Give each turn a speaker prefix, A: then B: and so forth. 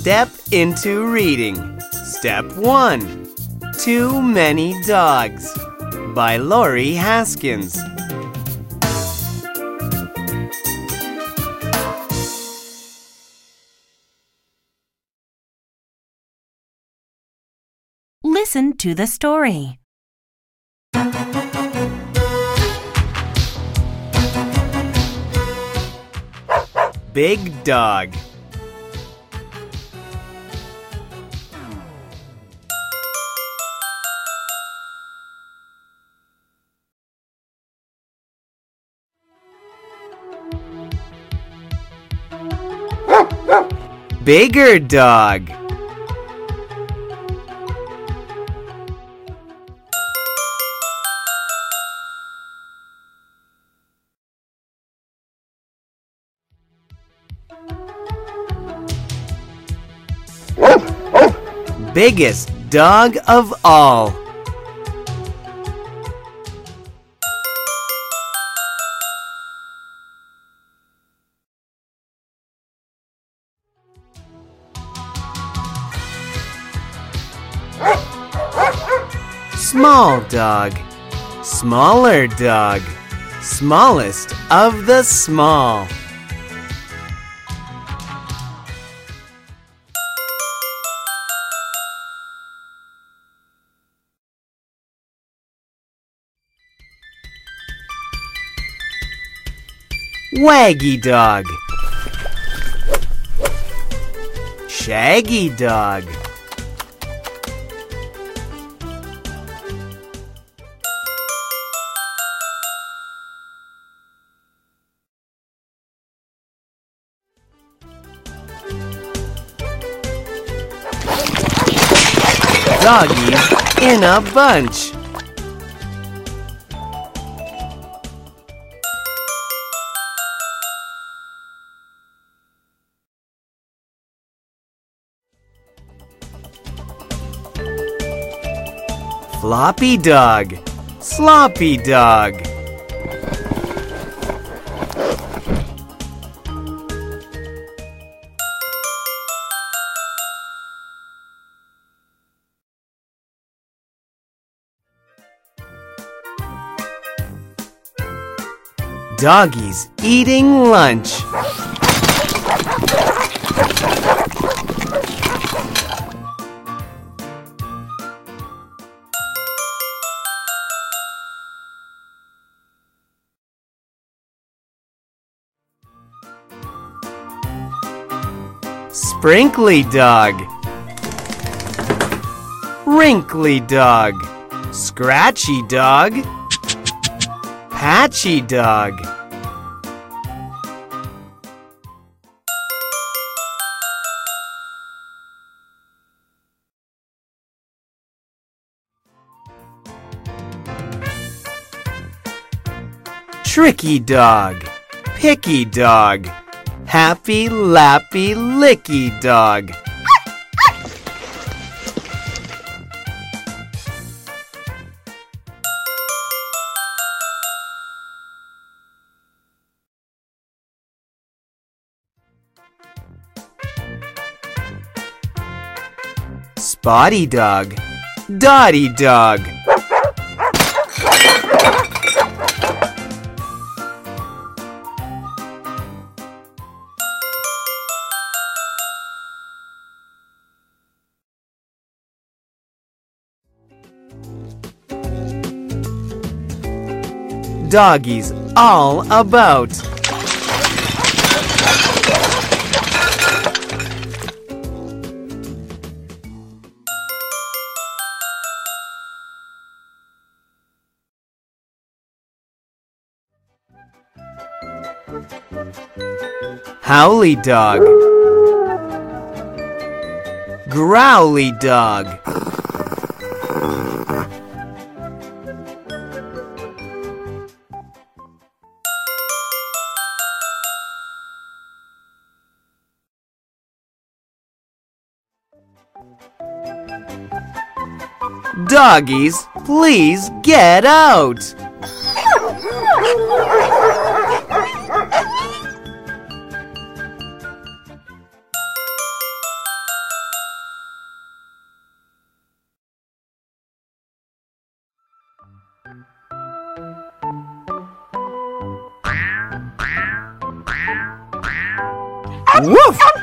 A: step into reading. Step 1. Too Many Dogs by Laurie Haskins.
B: Listen to the story.
A: Big Dog. Bigger Dog. Biggest dog of all. Small dog. Smaller dog. Smallest of the small. Waggy dog. Shaggy dog. Doggies in a bunch. Floppy dog. Sloppy dog. Doggies eating lunch. Sprinkly dog. Wrinkly dog. Scratchy dog. Patchy dog. Tricky dog. Picky dog. Happy, lappy, licky dog. Spotty dog. Dotty dog. Doggies all about. Howly dog. Growly dog. Doggies, please get out! Woof!